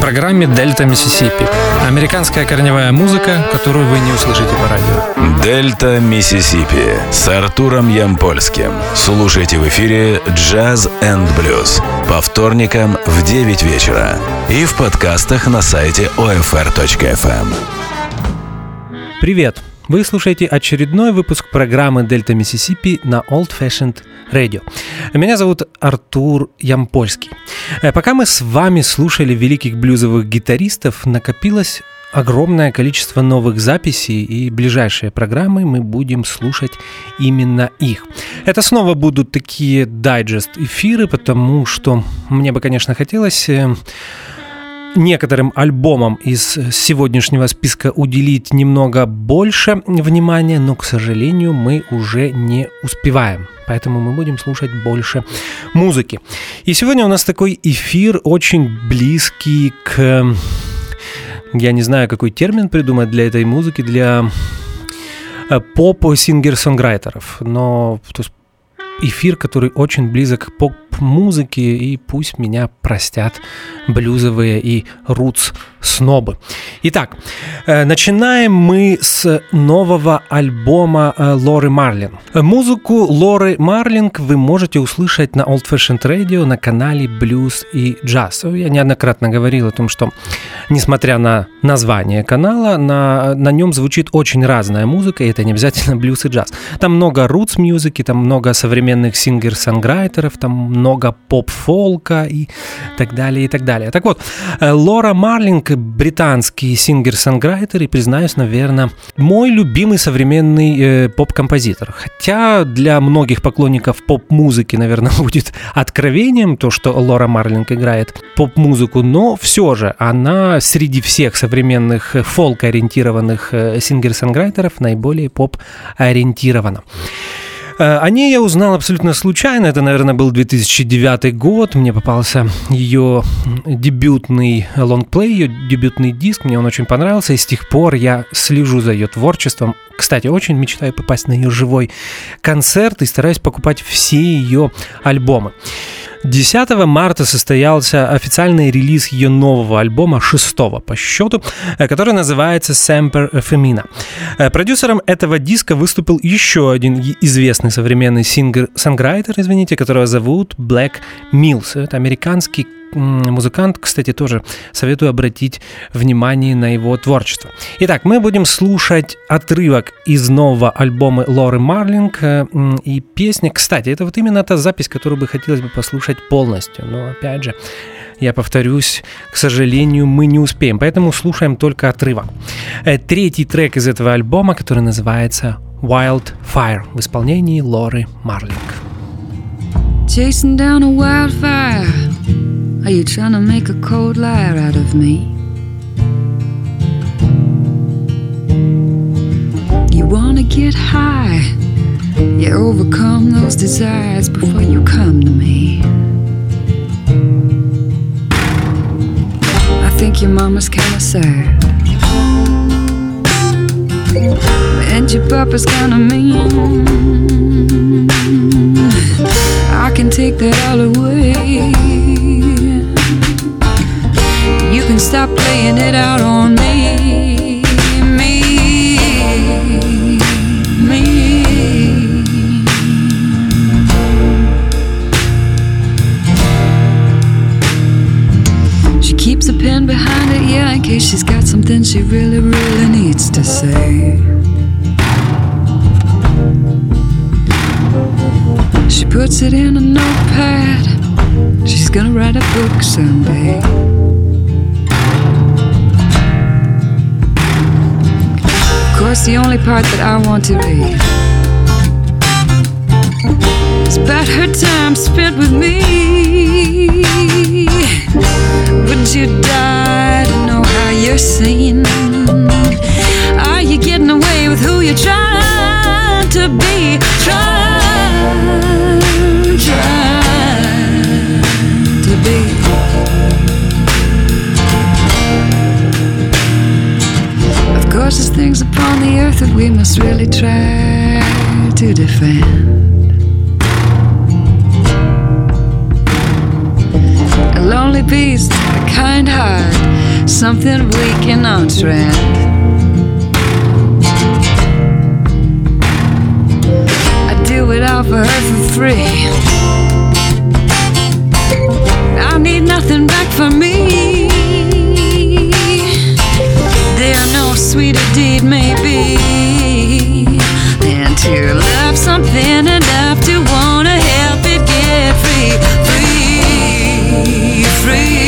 программе «Дельта Миссисипи». Американская корневая музыка, которую вы не услышите по радио. «Дельта Миссисипи» с Артуром Ямпольским. Слушайте в эфире «Джаз энд блюз» по вторникам в 9 вечера и в подкастах на сайте OFR.FM. Привет! Вы слушаете очередной выпуск программы «Дельта Миссисипи» на Old Fashioned Radio. Меня зовут Артур Ямпольский. Пока мы с вами слушали великих блюзовых гитаристов, накопилось огромное количество новых записей, и ближайшие программы мы будем слушать именно их. Это снова будут такие дайджест-эфиры, потому что мне бы, конечно, хотелось некоторым альбомам из сегодняшнего списка уделить немного больше внимания, но, к сожалению, мы уже не успеваем. Поэтому мы будем слушать больше музыки. И сегодня у нас такой эфир очень близкий к... Я не знаю, какой термин придумать для этой музыки, для поп-сингер-сонграйтеров. Но эфир, который очень близок к поп-музыке, и пусть меня простят блюзовые и рутс-снобы. Итак, начинаем мы с нового альбома Лоры Марлин. Музыку Лоры Марлин вы можете услышать на Old Fashioned Radio на канале Blues и Jazz. Я неоднократно говорил о том, что, несмотря на название канала, на нем звучит очень разная музыка, и это не обязательно блюз и джаз. Там много рутс-музыки, там много современных сингер-сонграйтеров, там много поп-фолка и так далее, и так далее. Так вот, Лора Марлин — британский сингер-сонграйтер и, признаюсь, наверное, мой любимый современный поп-композитор. Хотя для многих поклонников поп-музыки, наверное, будет откровением то, что Лора Марлин играет поп-музыку, но все же она среди всех современных фолк-ориентированных сингер-сонграйтеров наиболее поп-ориентирована. О ней я узнал абсолютно случайно. Это, наверное, был 2009 год. Мне попался ее дебютный лонгплей, ее дебютный диск. Мне он очень понравился, и с тех пор я слежу за ее творчеством. Кстати, очень мечтаю попасть на ее живой концерт и стараюсь покупать все ее альбомы. 10 марта состоялся официальный релиз ее нового альбома, 6-го по счету, который называется «Semper Femina». Продюсером этого диска выступил еще один известный современный сингер-сонграйтер, которого зовут Блэк Миллс. Это американский музыкант, кстати, тоже советую обратить внимание на его творчество. Итак, мы будем слушать отрывок из нового альбома Лоры Марлин, и песня, кстати, это вот именно та запись, которую бы хотелось бы послушать полностью, но, опять же, я повторюсь, к сожалению, мы не успеем, поэтому слушаем только отрывок. Третий трек из этого альбома, который называется «Wildfire» в исполнении Лоры Марлин. Chasing down a wildfire. Are you trying to make a cold liar out of me? You wanna get high, you overcome those desires before you come to me. I think your mama's kinda sad, and your papa's kinda mean. I can take that all away. You can stop playing it out on me, me. She keeps a pen behind her ear in case she's got something she really, really needs to say. She puts it in a notepad. She's gonna write a book someday. Of course, the only part that I want to read is about her time spent with me. Would you die to know how you're seen? Are you getting away with who you're trying to be? Trying to be. Of course, there's things upon the earth that we must really try to defend. A lonely beast, a kind heart, something weak and on trend. I do it all for her for free. I need nothing back for me. There no sweeter deed may be than to love something enough to wanna help it get free, free, free.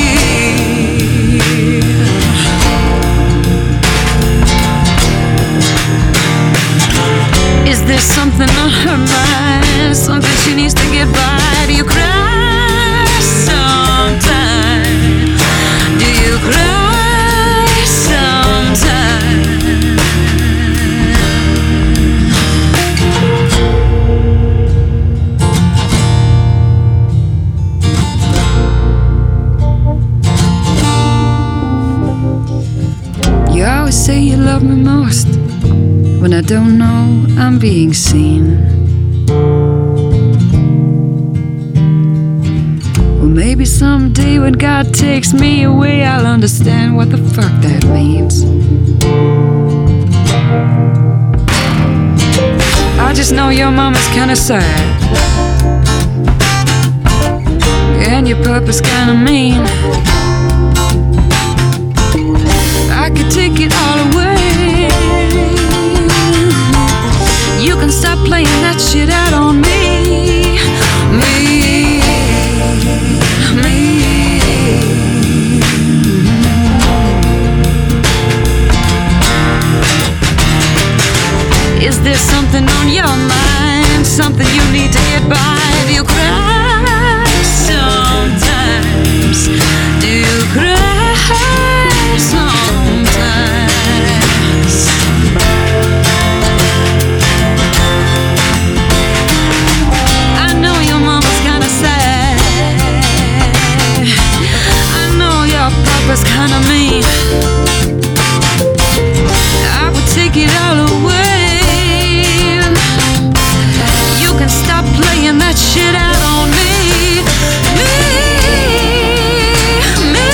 Is there something on her mind, something she needs to get by? Do you cry sometimes? Do you cry sometimes? You always say you love me most when I don't know I'm being seen. Well, maybe someday when God takes me away, I'll understand what the fuck that means. I just know your mama's kinda sad, and your papa's kinda mean. I could take it all away. You can stop playing that shit out on me. Me. Is there something on your mind, something you need to get by? Do you cry sometimes? Do you cry sometimes? I know your mama's kinda sad, I know your papa's kinda mean. I would take it all away. You can stop playing that shit out on me. Me, me.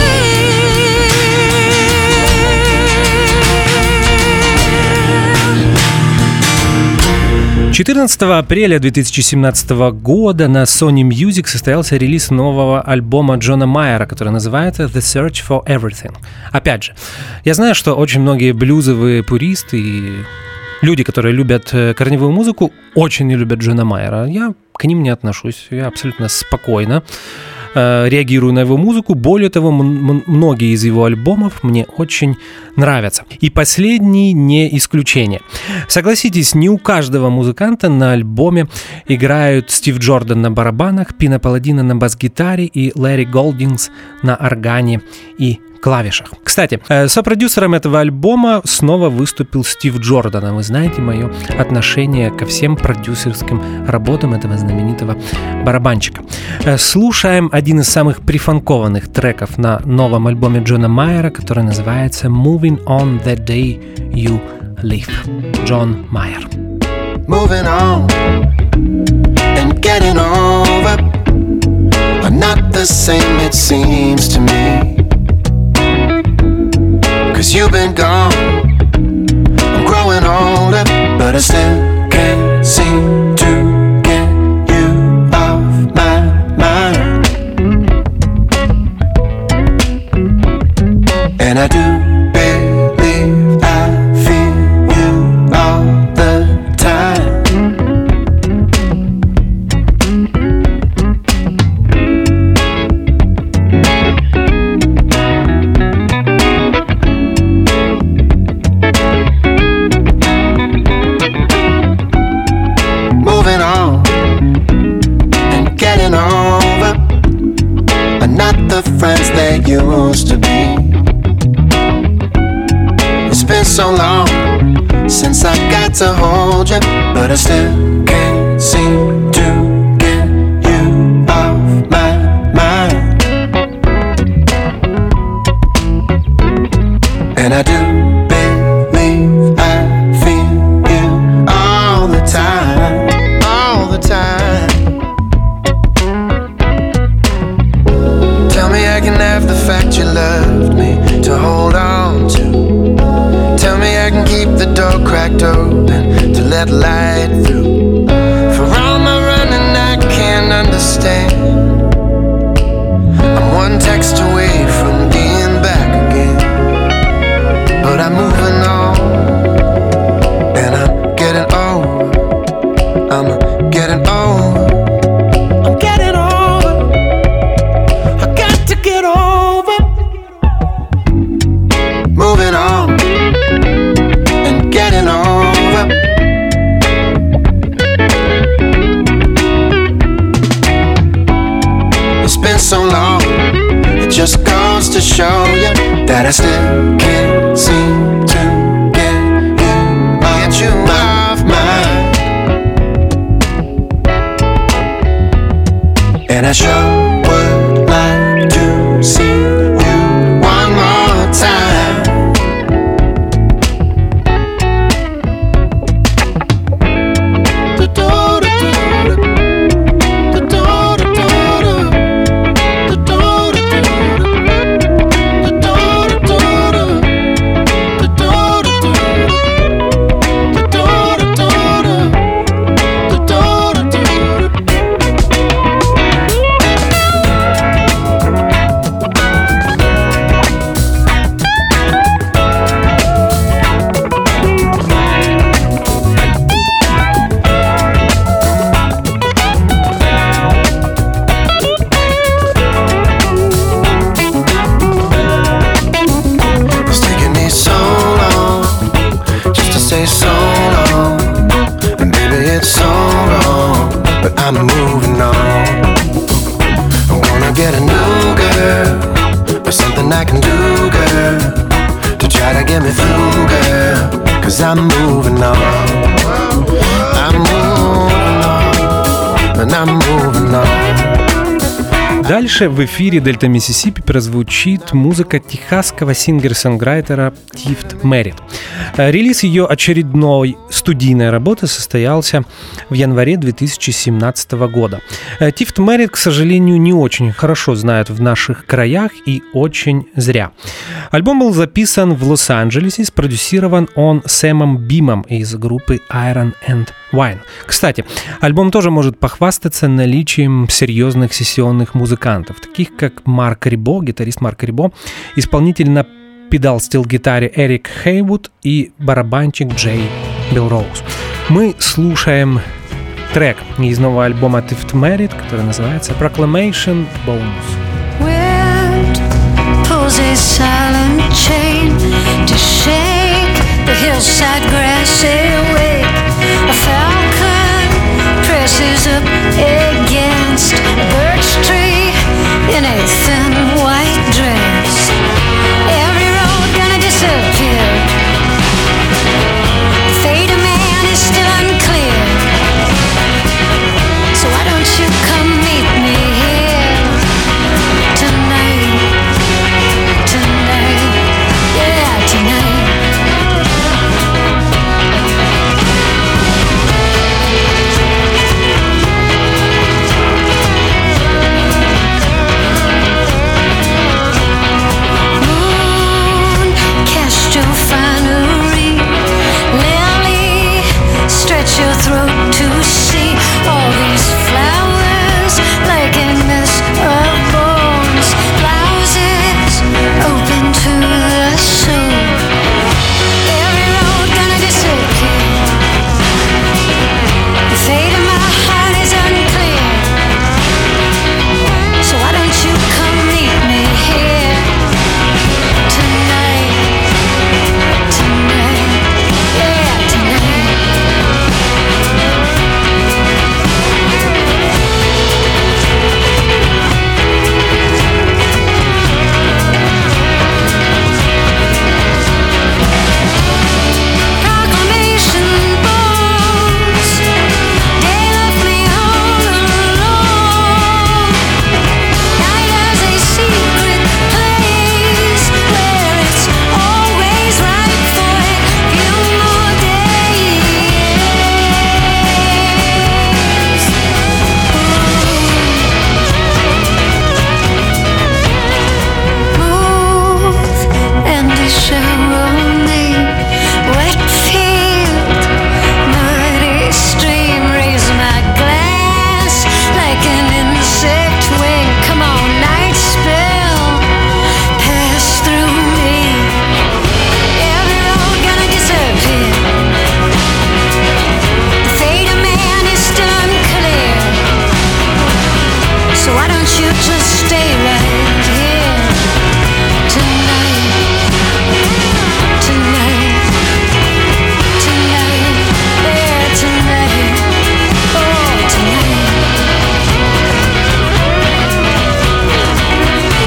14 апреля 2017 года на Sony Music состоялся релиз нового альбома Джона Майера, который называется The Search for Everything. Опять же, я знаю, что очень многие блюзовые пуристы и люди, которые любят корневую музыку, очень не любят Джона Майера. Я к ним не отношусь, я абсолютно спокойно реагирую на его музыку. Более того, многие из его альбомов мне очень нравятся. И последний не исключение. Согласитесь, не у каждого музыканта на альбоме играют Стив Джордан на барабанах, Пино Палладино на бас-гитаре и Ларри Голдингс на органе и клавишах. Кстати, сопродюсером этого альбома снова выступил Стив Джордан. Вы знаете мое отношение ко всем продюсерским работам этого знаменитого барабанщика. Слушаем один из самых прифанкованных треков на новом альбоме Джона Майера, который называется «Moving on the day you leave». Джон Майер. Moving on and getting over are not the same, it seems to me. 'Cause you've been gone, I'm growing older, but I still can't seem to get you off my mind. And I do believe I feel you all the time. Friends they used to be. It's been so long since I got to hold you, but I still can't seem to get you off my mind. And I do believe I feel you all the time, all the time. Tell me I can have the fact you loved that light through. For all my running I can't understand. I'm one text away from being back again, but I'm moving on, and I'm getting over. I'm getting over. I'm getting over. I got to get over. Moving on and getting over. It's been so long, it just goes to show you that I still can't seem to get you off my mind. And I sure would like to see you one more time. I'm moving on. I'm gonna get a new girl, or something I can do, girl, to try to get me through, girl. Cause I'm moving on. I'm moving on, and I'm moving on. Дальше в эфире Дельта Миссисипи прозвучит музыка техасского сингер-сонграйтера Тифт Мерритт. Релиз ее очередной студийной работы состоялся в январе 2017 года. Тифт Мерритт, к сожалению, не очень хорошо знают в наших краях, и очень зря. Альбом был записан в Лос-Анджелесе, спродюсирован он Сэмом Бимом из группы Iron and Wine. Кстати, альбом тоже может похвастаться наличием серьезных сессионных музыкантов, таких как Марк Рибо, гитарист Марк Рибо, исполнитель на педал-стил-гитаре Эрик Хейвуд и барабанщик Джей Белроуз. Мы слушаем трек из нового альбома Тифт Мерритт, который называется Proclamation Bonus. Wind pulls a silent chain to shake the hillside grass away. A falcon presses up against a birch tree in a thin white dress. Every road gonna disappear. Fate of man is still unclear. So why don't you come meet me here?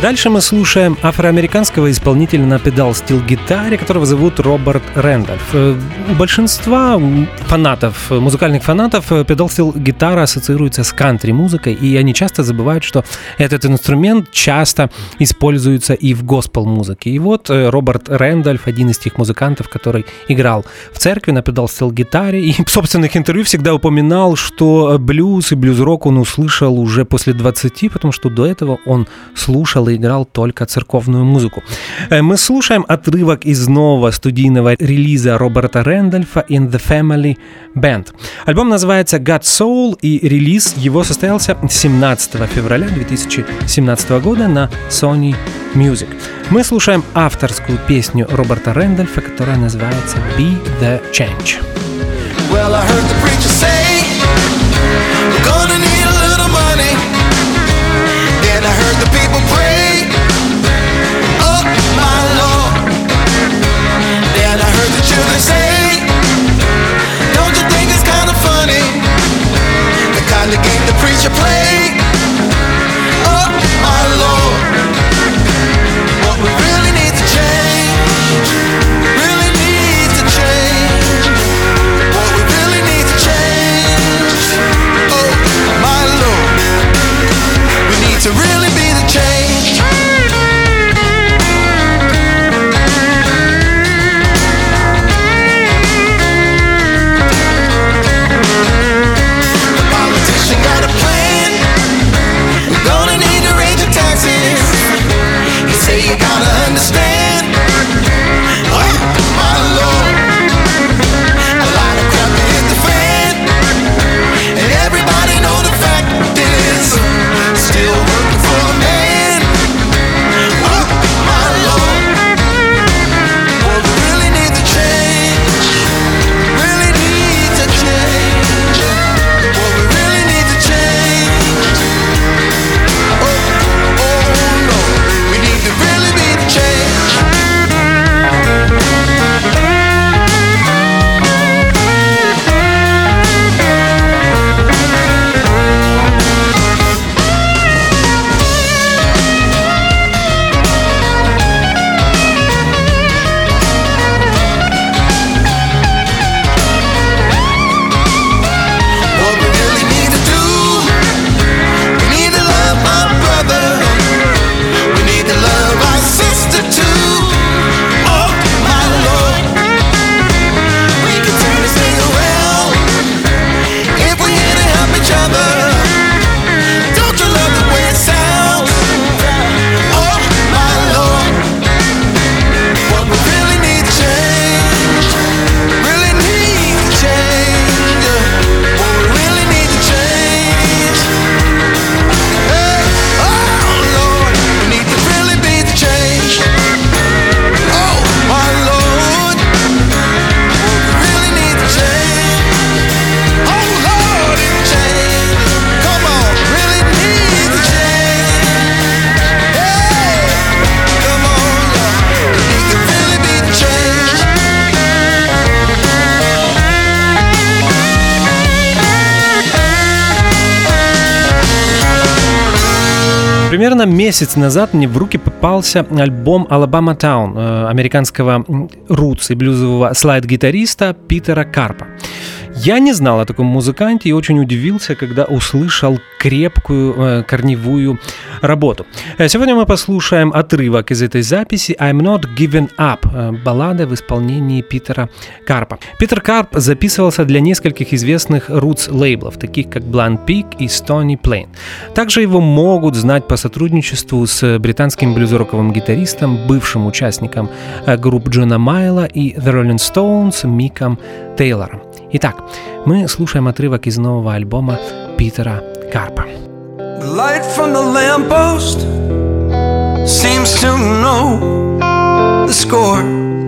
Дальше мы слушаем афроамериканского исполнителя на педал-стил-гитаре, которого зовут Роберт Рэндольф. У большинства фанатов, музыкальных фанатов, педал-стил-гитара ассоциируется с кантри-музыкой, и они часто забывают, что этот инструмент часто используется и в госпел-музыке. И вот Роберт Рэндольф, один из тех музыкантов, который играл в церкви на педал-стил-гитаре, и в собственных интервью всегда упоминал, что блюз и блюз-рок он услышал уже после 20, потому что до этого он слушал и играл только церковную музыку. Мы слушаем отрывок из нового студийного релиза Роберта Рэндольфа In the Family Band. Альбом называется God Soul, и релиз его состоялся 17 февраля 2017 года на Sony Music. Мы слушаем авторскую песню Роберта Рэндольфа, которая называется Be the Change. Well, I heard the preacher say we're gonna need a little money. Then I heard the people pray, oh my Lord. Then I heard the children say, don't you think it's kind of funny, the kind of game the preacher played, oh my Lord. What we really need to change, really need to change. What we really need to change, oh my Lord. We need to really be the change. The politician got a plan. We're gonna need to raise your taxes. He say you gotta understand, oh my Lord. A lot of crap hit the fan, and everybody know the fact is still working for the man. Oh my Lord. Well, we really need to change. Really need to change. Well, we really need to change. Oh Lord. We need to really be the change. What we really need to do, we need to love my brother, we need to love our sister too. Oh my Lord. We can turn this thing around if we're here to help each other. Don't you love the way it sounds? Oh my Lord. What we really need to change, really need to change. What we really need to change, hey, oh Lord. We need to really be the change. Oh my Lord. What we really need to change, oh Lord, it change. Come on, really need to change. Hey, come on, Lord. We need to really be the change. Примерно месяц назад мне в руки попался альбом Alabama Town американского рутс и блюзового слайд-гитариста Питера Карпа. Я не знал о таком музыканте и очень удивился, когда услышал крепкую корневую работу. Сегодня мы послушаем отрывок из этой записи «I'm Not Giving Up», баллада в исполнении Питера Карпа. Питер Карп записывался для нескольких известных рутс-лейблов, таких как Blunt Pig и Stony Plain. Также его могут знать по сотрудничеству с британским блюз-роковым гитаристом, бывшим участником групп Джона Майла и The Rolling Stones Миком Тейлором. Итак, мы слушаем отрывок из нового альбома Питера Карпа. The light from the lamppost seems to know the score.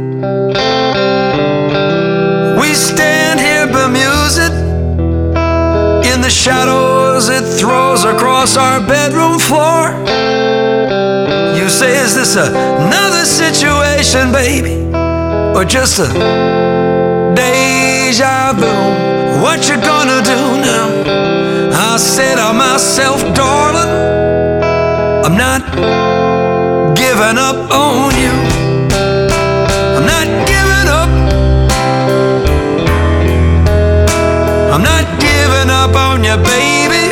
We stand here bemused in the shadows it throws across our bedroom floor. You say, is this another situation, baby, or just a deja vu? What you gonna do now? I said to myself, darling, I'm not giving up on you. I'm not giving up. I'm not giving up on you, baby.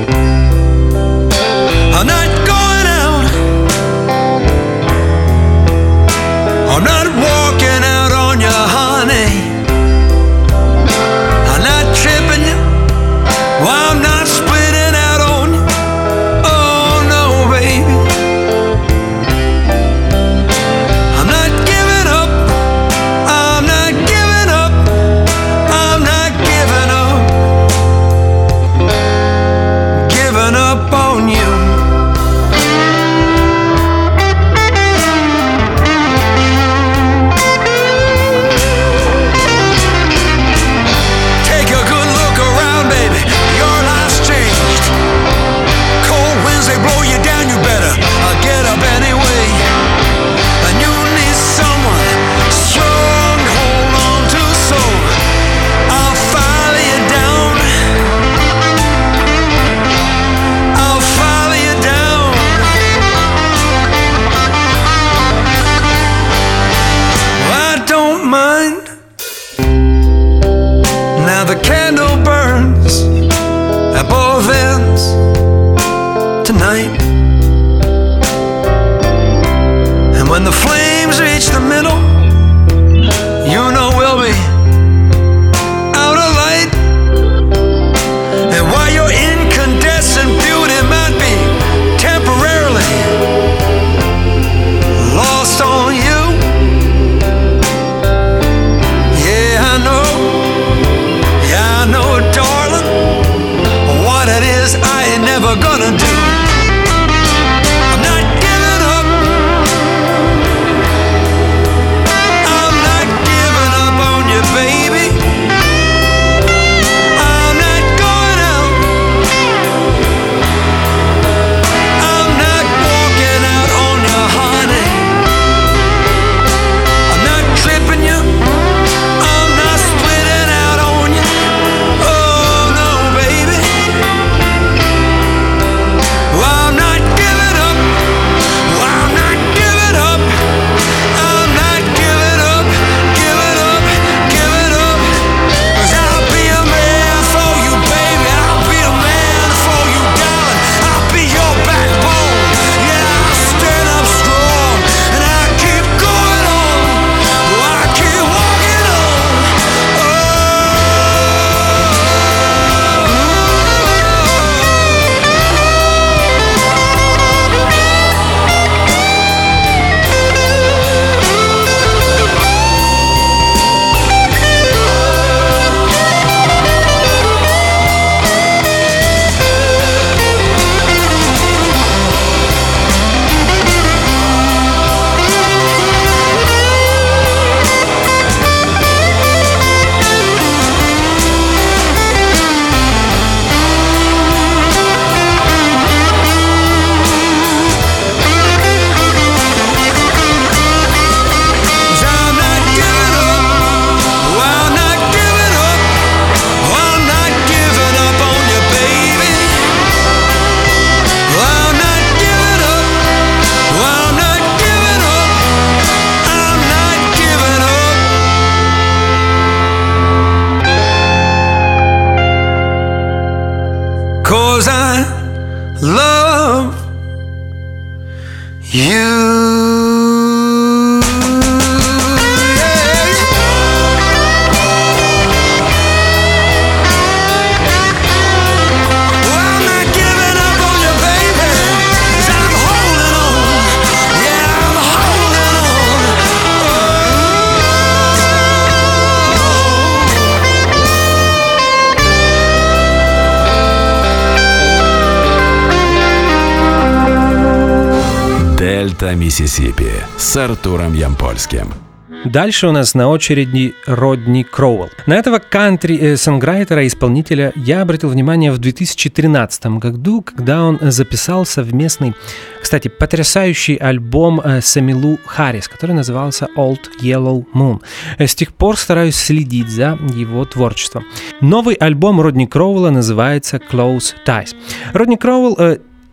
I'm not going out. I'm not walking out on you, honey. I'm not tripping you. Well, I'm not splitting out on you. Oh no, baby. I'm not giving up. I'm not giving up. I'm not giving up. Giving up on you. Take a good look around, baby. Your life's changed. Cold winds, they blow you down. You better get up anyway. And you need someone strong to hold on to. So I'll follow you down. I'll follow you down. I don't mind. Now the candle burns at both ends tonight. And when the flames reach the middle, you know we'll be out of light. And while your incandescent beauty might be temporarily lost on you, yeah, I know. Yeah, I know, darling, what it is I ain't never gonna do. I'm not giving up. I'm not giving up on you, baby. I'm not going out. I'm not walking out on you, honey. I'm not tripping you. I'm not splitting out on you. Oh no, baby. Well, I'm not giving up. Well, I'm not giving up. I'm not giving up. Giving up. Giving up. 'Cause I'll be a man for you, baby. I'll be a man for you, darling. I'll be your backbone. Yeah, I'll stand up strong. And I'll keep going on. I'll keep walking on. I'm not giving up. Well, I'm not giving up. Well, I'm not giving up on you, baby. Well, I'm not giving up. Well, I'm not giving up. I'm not giving up. 'Cause I love you. Well, I'm not giving up on you, baby. 'Cause I'm holding on. Yeah, I'm holding on. Дельта Миссисипи с Артуром Ямпольским. Дальше у нас на очереди Родни Кроуэлл. На этого кантри-сонграйтера и исполнителя я обратил внимание в 2013 году, когда он записал совместный, кстати, потрясающий альбом с Эмилу Харрис, который назывался Old Yellow Moon. С тех пор стараюсь следить за его творчеством. Новый альбом Родни Кроуэлла называется Close Ties. Родни Кроуэлл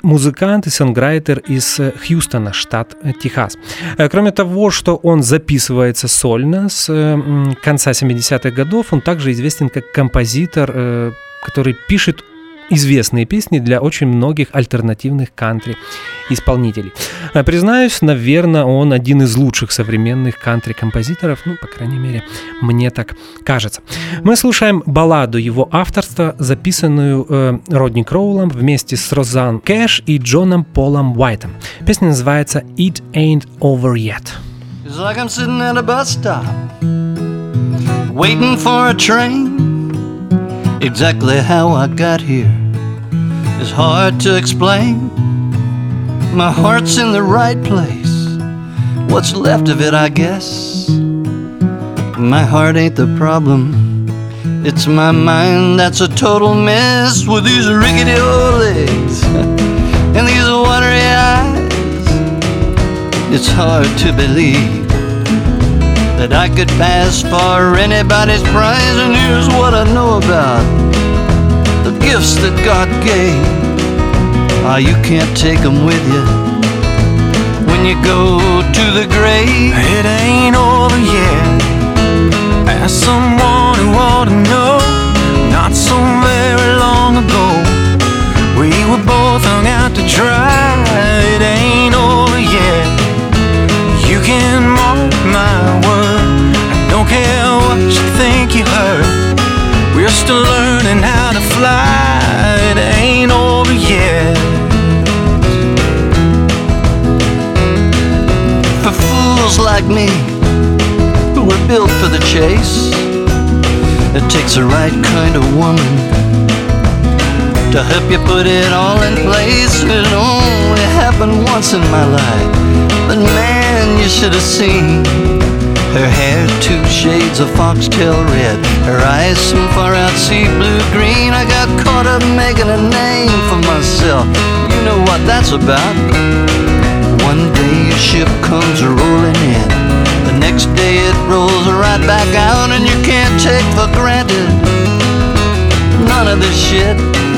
музыкант и сонграйтер из Хьюстона, штат Техас. Кроме того, что он записывается сольно с конца 70-х годов, он также известен как композитор, который пишет известные песни для очень многих альтернативных кантри-исполнителей. Признаюсь, наверное, он один из лучших современных кантри-композиторов, ну, по крайней мере, мне так кажется. Мы слушаем балладу его авторства, записанную Родни Кроулом вместе с Розан Кэш и Джоном Полом Уайтом. Песня называется «It Ain't Over Yet». It's like I'm sitting at a bus stop, waiting for a train. Exactly how I got here is hard to explain. My heart's in the right place, what's left of it, I guess. My heart ain't the problem, it's my mind that's a total mess. With these rickety old legs and these watery eyes, it's hard to believe that I could pass for anybody's prize. And here's what I know about the gifts that God gave. You can't take them with you when you go to the grave. It ain't over yet. Ask someone who ought to know. Not so very long ago, we were both hung out to dry. It ain't over yet. You can mark my word, I don't care what you think you heard. We're still learning how to fly. It ain't over yet. For fools like me, who were built for the chase, it takes the right kind of woman to help you put it all in place. It only happened once in my life, but man, you should have seen her hair, 2 shades of foxtail red, her eyes some far out sea blue green. I got caught up making a name for myself, you know what that's about. One day a ship comes rolling in, the next day it rolls right back out. And you can't take for granted none of this shit.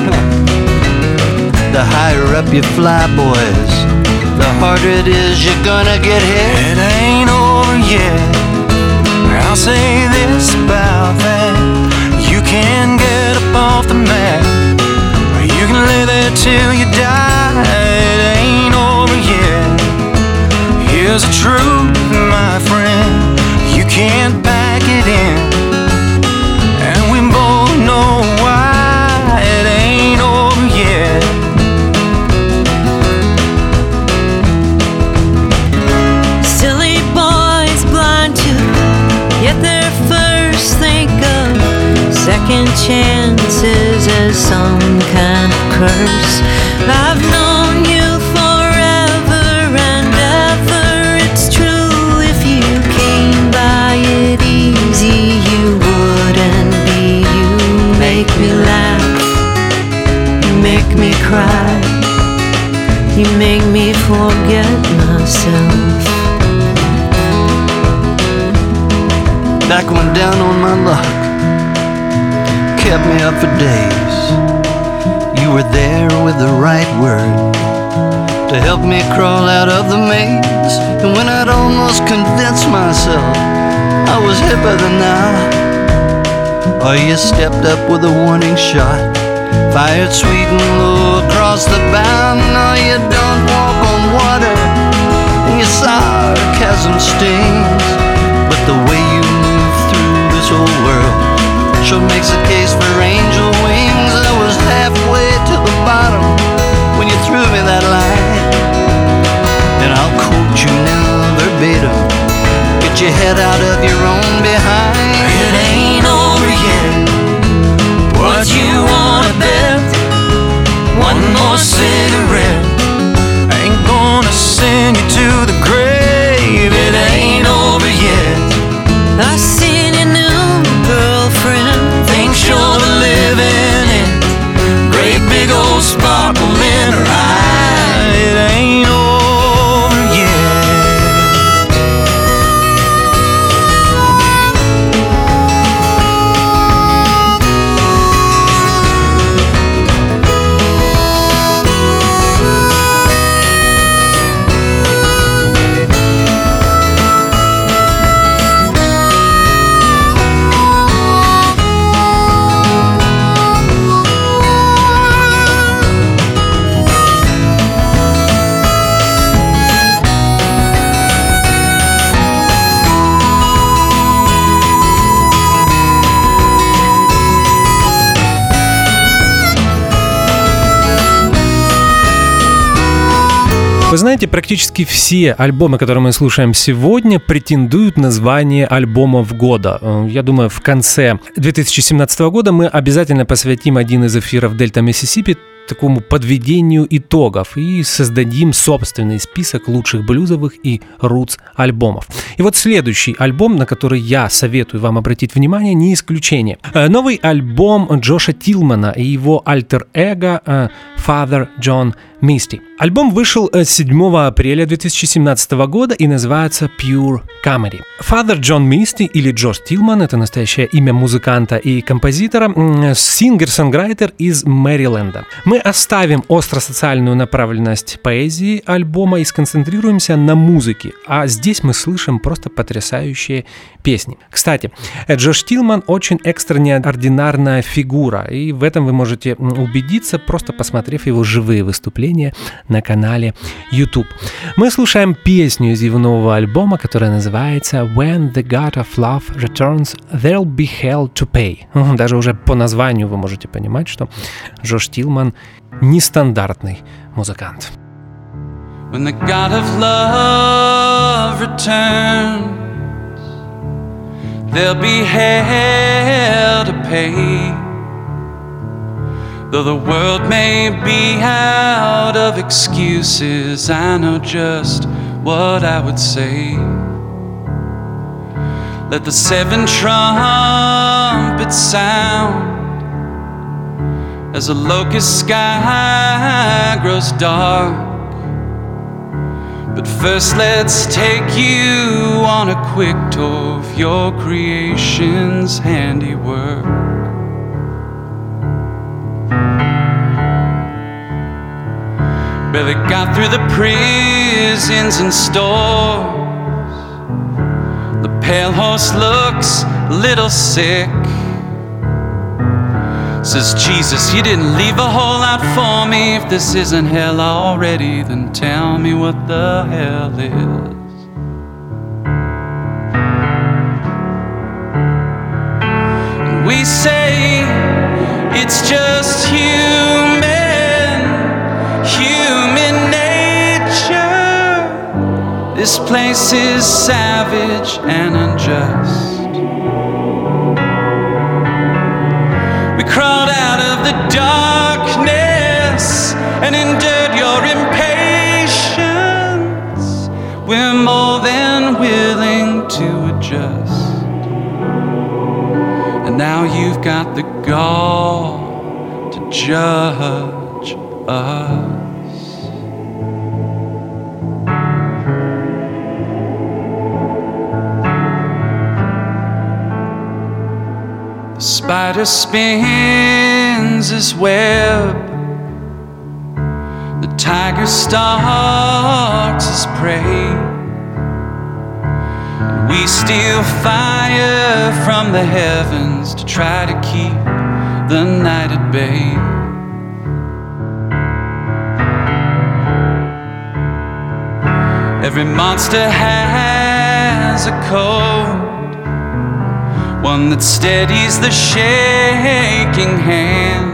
The higher up you fly, boys, the harder it is you're gonna get hit. It ain't over yet. I'll say this about that: you can get up off the mat, or you can lay there till you die. It ain't over yet. Here's the truth, my friend, you can't back it in, and we both know why. It ain't over yet. Silly boys blind to get there first, think of second chances as some kind of curse. I've known you forever and ever, it's true. If you came by it easy, you wouldn't be you. Make me laugh, you make me cry, you make me forget myself. Back when down on my luck kept me up for days, you were there with the right word to help me crawl out of the maze. And when I'd almost convinced myself I was hipper than now, or you stepped up with a warning shot, fired sweet and low across the bow. No, you don't walk on water and your sarcasm stings, but the way you move through this old world sure makes a case for angel wings. I was halfway to the bottom when you threw me that line, and I'll quote you now verbatim: get your head out of your own behind. It ain't over yet. What you wanna bet? One more cigarette ain't gonna send you to the grave. It ain't over yet. I seen your new girlfriend, Thinks you're the living in, great big old sparkle in her eye. It ain't over yet. Вы знаете, практически все альбомы, которые мы слушаем сегодня, претендуют на звание альбомов года. Я думаю, в конце 2017 года мы обязательно посвятим один из эфиров «Дельта Миссисипи» такому подведению итогов и создадим собственный список лучших блюзовых и рутс альбомов. И вот следующий альбом, на который я советую вам обратить внимание, не исключение. Новый альбом Джоша Тилмана и его альтер-эго Father John Misty. Альбом вышел 7 апреля 2017 года и называется Pure Comedy. Father John Misty или Джош Тилман — это настоящее имя музыканта и композитора, сингер-сонграйтер из Мэриленда. Мы оставим остро-социальную направленность поэзии альбома и сконцентрируемся на музыке, а здесь мы слышим просто потрясающие песни. Кстати, Джош Тилман очень экстраординарная фигура, и в этом вы можете убедиться, просто посмотрев его живые выступления на канале YouTube. Мы слушаем песню из его нового альбома, которая называется When the God of Love Returns, There'll be Hell to Pay. Даже уже по названию вы можете понимать, что Джош Тилман нестандартный музыкант. When the God of love returns, there'll be hell to pay. Though the world may be out of excuses, I know just what I would say. Let the 7 trumpets sound as a locust sky grows dark. But first let's take you on a quick tour of your creation's handiwork. Barely got through the prisons and stores. The pale horse looks a little sick. Says, Jesus, you didn't leave a whole lot for me. If this isn't hell already, then tell me what the hell is. And we say it's just human nature. This place is savage and unjust. We crawled out of the darkness and endured your impatience. We're more than willing to adjust. And now you've got the gall to judge us. The spider spins his web, the tiger stalks his prey, and we steal fire from the heavens to try to keep the night at bay. Every monster has a code, one that steadies the shaking hand,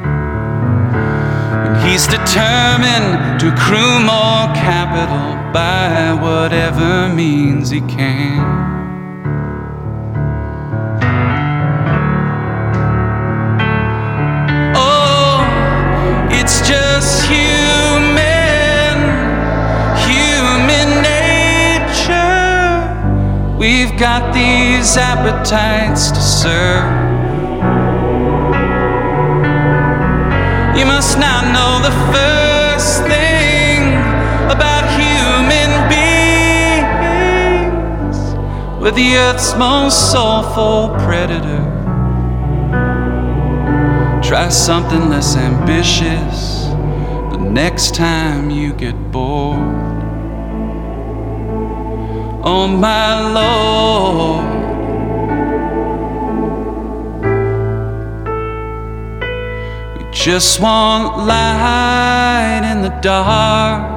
and he's determined to accrue more capital by whatever means he can. Oh, it's just human nature. We've got these appetites to serve. You must not know the first thing about human beings. We're the earth's most soulful predator. Try something less ambitious the next time you get bored. Oh my Lord, we just want light in the dark,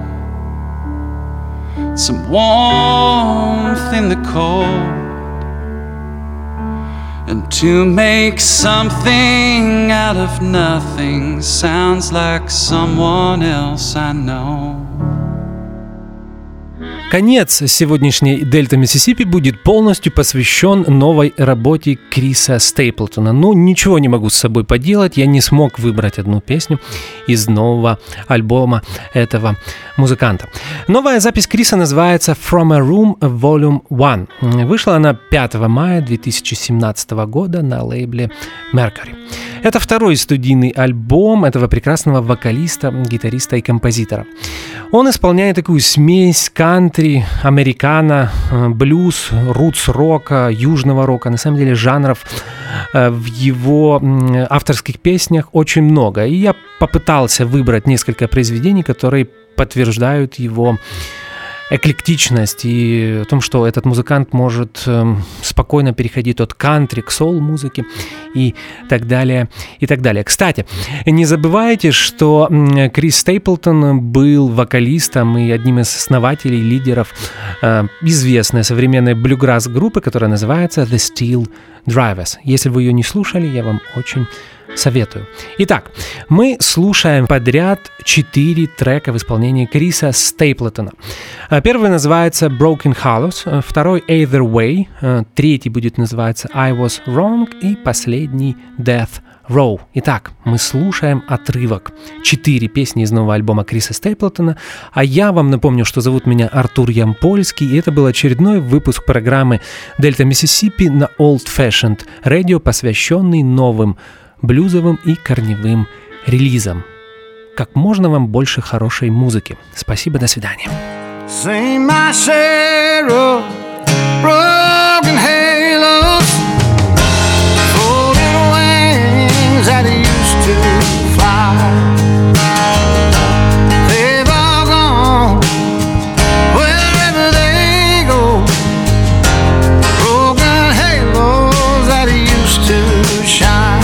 some warmth in the cold, and to make something out of nothing sounds like someone else I know. Конец сегодняшней «Дельта Миссисипи» будет полностью посвящен новой работе Криса Стейплтона. Ну, ничего не могу с собой поделать, я не смог выбрать одну песню из нового альбома этого музыканта. Новая запись Криса называется «From a Room Volume 1». Вышла она 5 мая 2017 года на лейбле Mercury. Это второй студийный альбом этого прекрасного вокалиста, гитариста и композитора. Он исполняет такую смесь кантри, американо, блюз, рутс-рока, южного рока. На самом деле жанров в его авторских песнях очень много. И я попытался выбрать несколько произведений, которые подтверждают его эклектичность и о том, что этот музыкант может спокойно переходить от кантри к соул-музыке и так далее, и так далее. Кстати, не забывайте, что Крис Стейплтон был вокалистом и одним из основателей, лидеров известной современной блюграсс-группы, которая называется The Steel Drivers. Если вы ее не слушали, я вам очень советую. Итак, мы слушаем подряд 4 трека в исполнении Криса Стейплтона. Первый называется Broken Hollows, второй Either Way, третий будет называться I Was Wrong и последний Death Row. Итак, мы слушаем отрывок. 4 песни из нового альбома Криса Стейплтона. А я вам напомню, что зовут меня Артур Ямпольский, и это был очередной выпуск программы «Дельта Миссисипи» на Old Fashioned Radio, посвященный новым блюзовым и корневым релизам. Как можно вам больше хорошей музыки. Спасибо, до свидания. Sing my share of broken halos, folded wings that used to fly. They've all gone wherever they go. Broken halos that used to shine.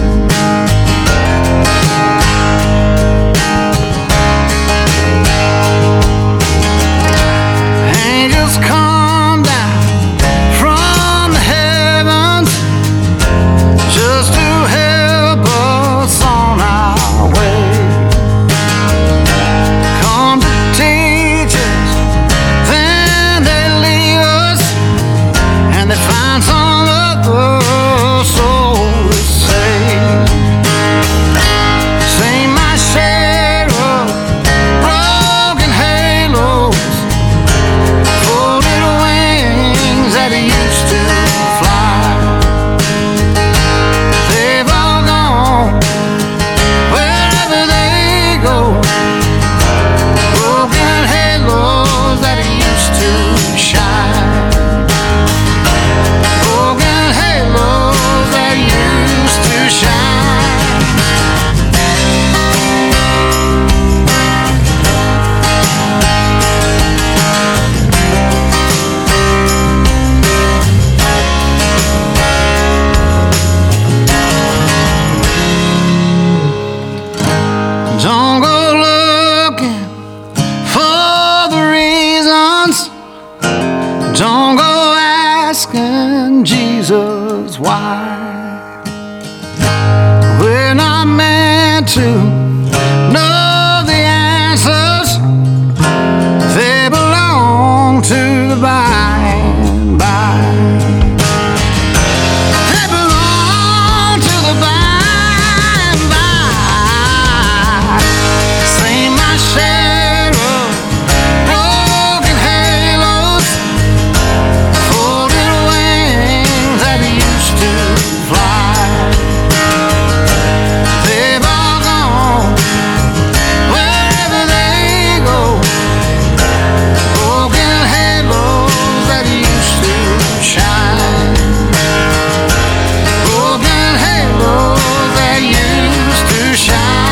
Come down from the heavens just to help us on our way. Come to teach us, then they leave us, and they find some other soul to save. Sing my share of broken halos, that used to fly. They've all gone wherever they go. Broken halos that used to shine. Broken halos that used to shine. Don't go looking for the reasons. Don't go asking Jesus why. We're not meant to know the answers. They belong to the by and by. They belong to the by. Share of broken halos, folded wings that used to fly. They've all gone wherever they go. Broken halos that used to shine. Broken halos that used to shine.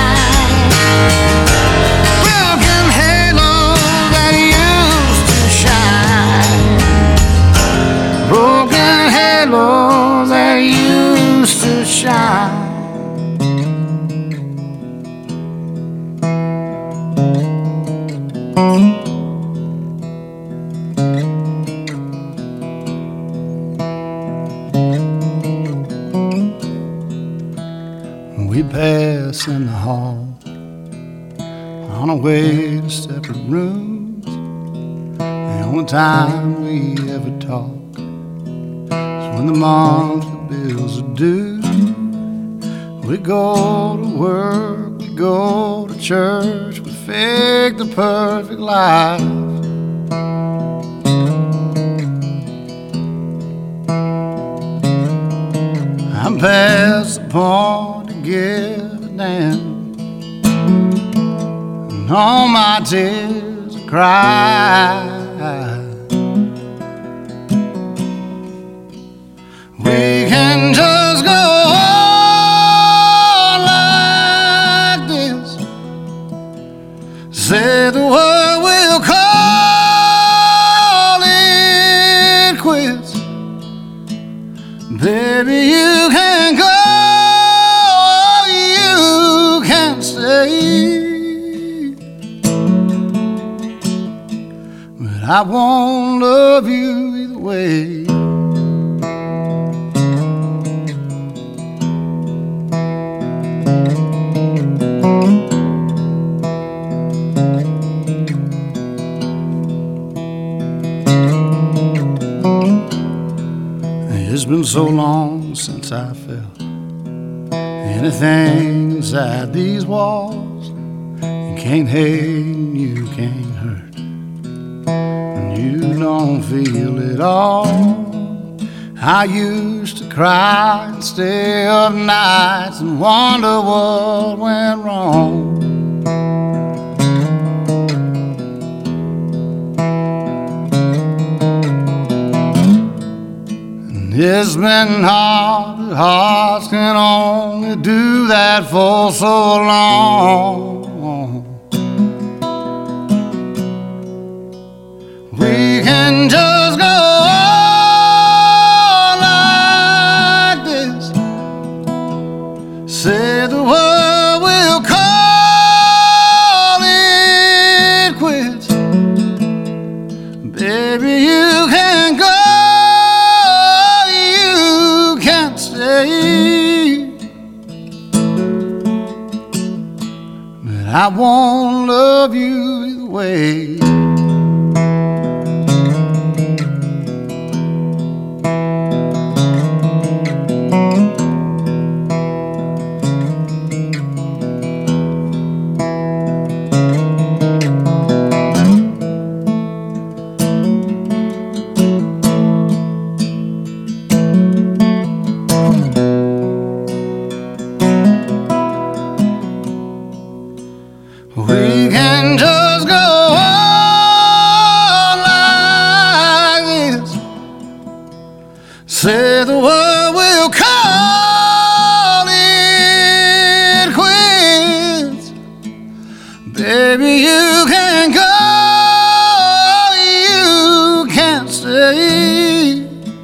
Broken halos that used to shine. We pass in the hall on our way to separate rooms. The only time we ever talk is when the monthly bills are due. We go to work, we go to church, we fake the perfect life. I'm past the point to give a damn, and all my tears I cry. We can just go on like this, say the word, we'll call it quits. Baby, you can go, you can stay, but I won't love you either way. It's been so long since I felt anything inside these walls. You can't hate and you can't hurt, and you don't feel it all. I used to cry and stay up nights and wonder what went wrong. It's been hard, but hearts can only do that for so long. We can just go on like this, say the word, we'll call it quits. Baby, you can go, but I won't love you either way. We can just go on like this, say the word, we'll call it quits. Baby, you can go, you can't stay,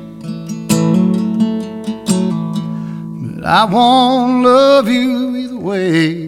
but I won't love you either way.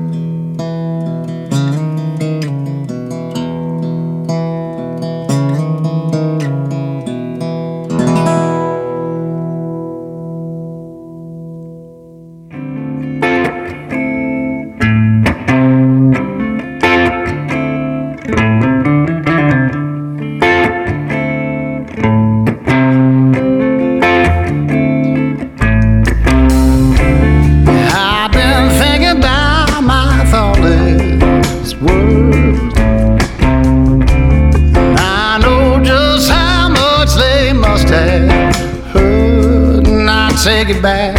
Take it back.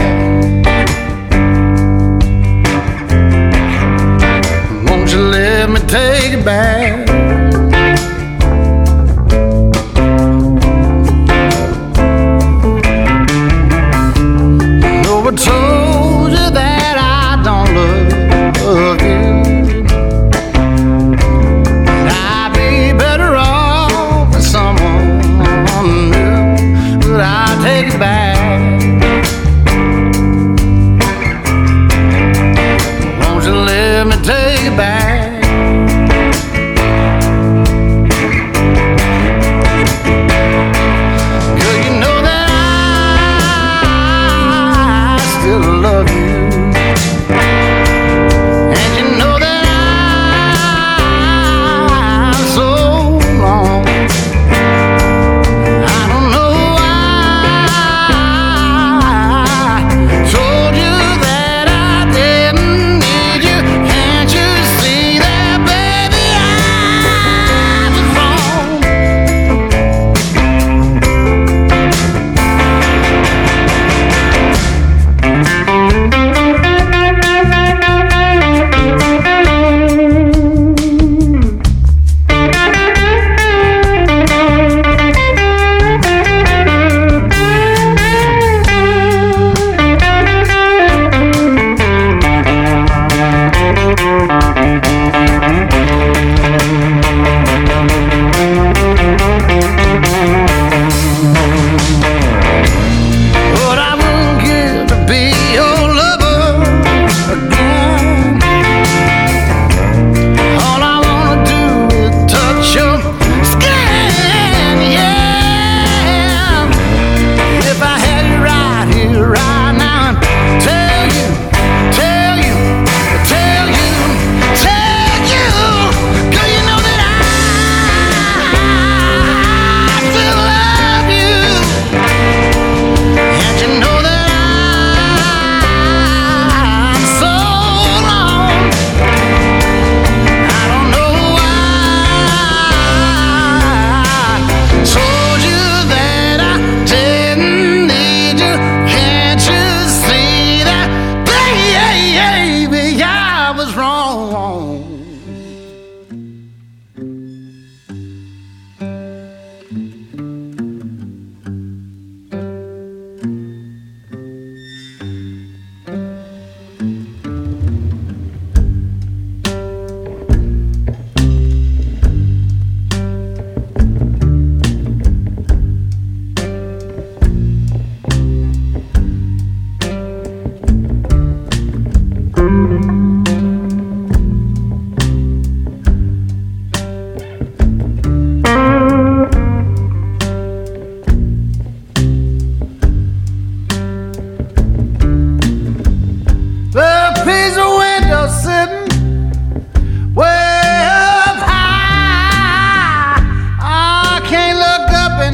Won't you let me take it back? No, I told you that I don't love you. I'd be better off with someone new, but I'll take it back. Let me take it back.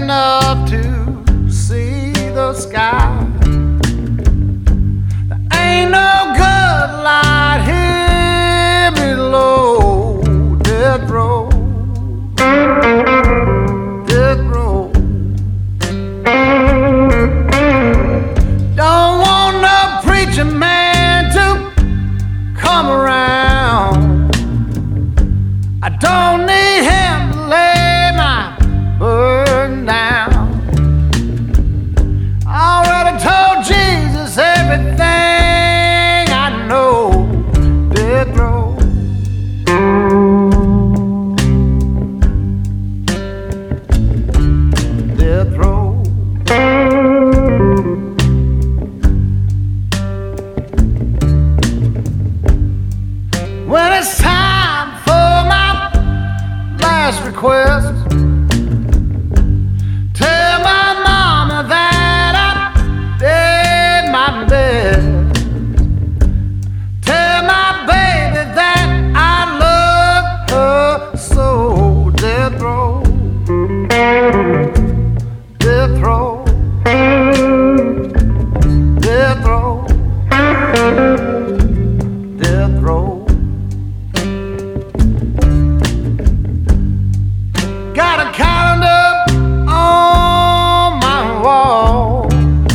enough to see the sky. There ain't no good light here below death row. Death row. Don't want no preacher man to come around. I don't need him to lay my burden down. I already told Jesus everything I know. Death row. Death row. When it's time for my last request, tell my mama that I did my best. Tell my baby that I love her so. Death row. Death row. Death row. Death row. Got a calendar on my wall,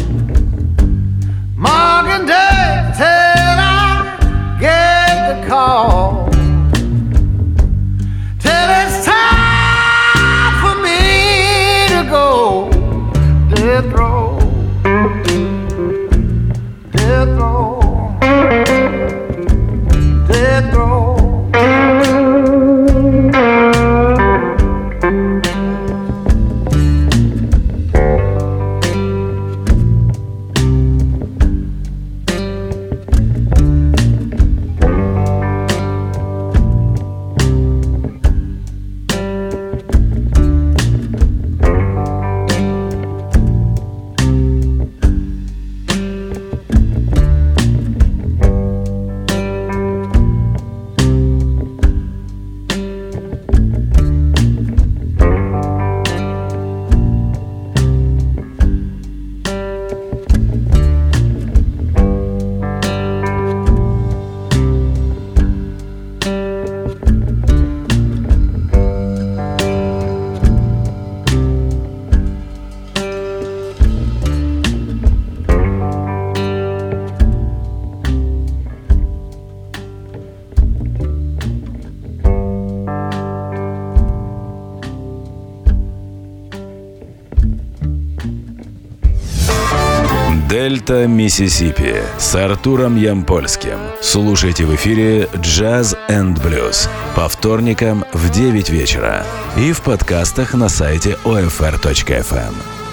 marking days till I get the call, till it's time for me to go. Death row. Death row. Death row. Дельта Миссисипи с Артуром Ямпольским. Слушайте в эфире Jazz and Blues по вторникам в 9 вечера и в подкастах на сайте OFR.FM.